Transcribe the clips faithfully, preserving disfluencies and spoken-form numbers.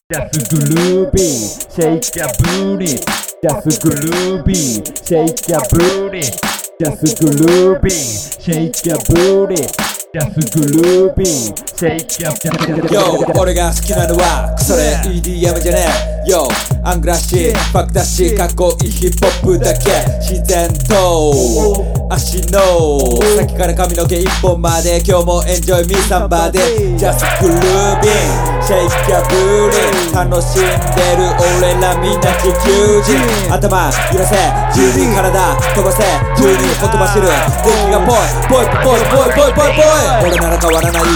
Just groovy, shake your booty. Just groovy, shake your booty. Just groovy, shake your booty. Just groovy, shake your booty. Yo, 俺が好きなのはクソレ イーディーエム じゃねえ Yo、アングラッシー、ファクだしかっこいいヒップホップだけ自然と足の先から髪の毛一本まで今日もエンジョイミーサンバで Just grooving Shake your booty 楽しんでる俺らみんな地球人頭揺らせ自由に体飛ばせ自由にほとばしる電気がぽいぽいぽいぽいぽいぽいぽい俺なら変わらない、うん、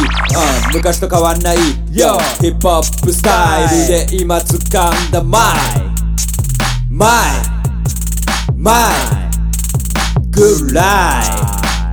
昔と変わんない Yo ヒップホップスタイルで今掴んだマイマイマイGood life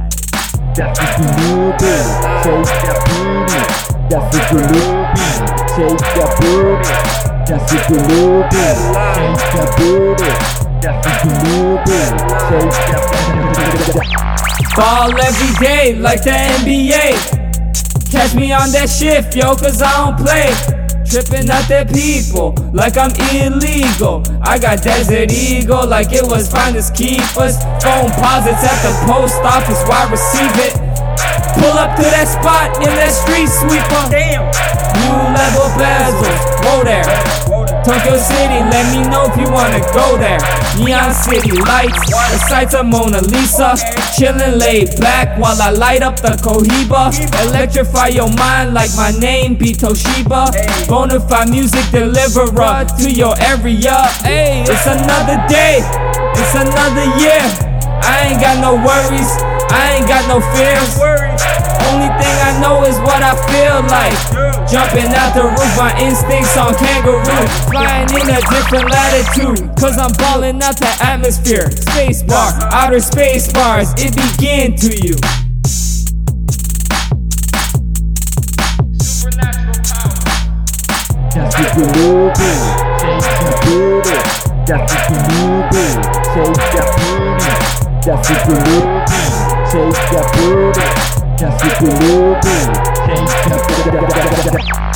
Just groovy, shake your booty. Just groovy, shake your booty. Just groovy, shake your booty. Just groovy, shake your booty. Ball every day like the N B A. Catch me on that shift, yo, cause I don't play. Tripping at the people like I'm illegal. I got Desert Eagle like it was finest keepers. Phone posits at the post office, why receive it? Pull up to that spot in that street sweeper. Damn. New level bezels, whoa there. Tokyo City, let me know if you wanna go there. Neon City lights, the sights of Mona Lisa. Chillin' laid back while I light up the Cohiba. Electrify your mind like my name be Toshiba. Bonafide music deliverer to your area. Hey, it's another day, it's another year. I ain't got no worries, I ain't got no fears. Only thing I know is what I feel like. Jumping out the roof, my instincts on kangaroo. Flying in a different latitude, cause I'm balling out the atmosphere. Space bar, outer space bars, it begin to you. Supernatural power. Just groovy, shake your booty. Just groovy, shake your booty. Just groovy, shake your booty. Just groovy, shake your booty.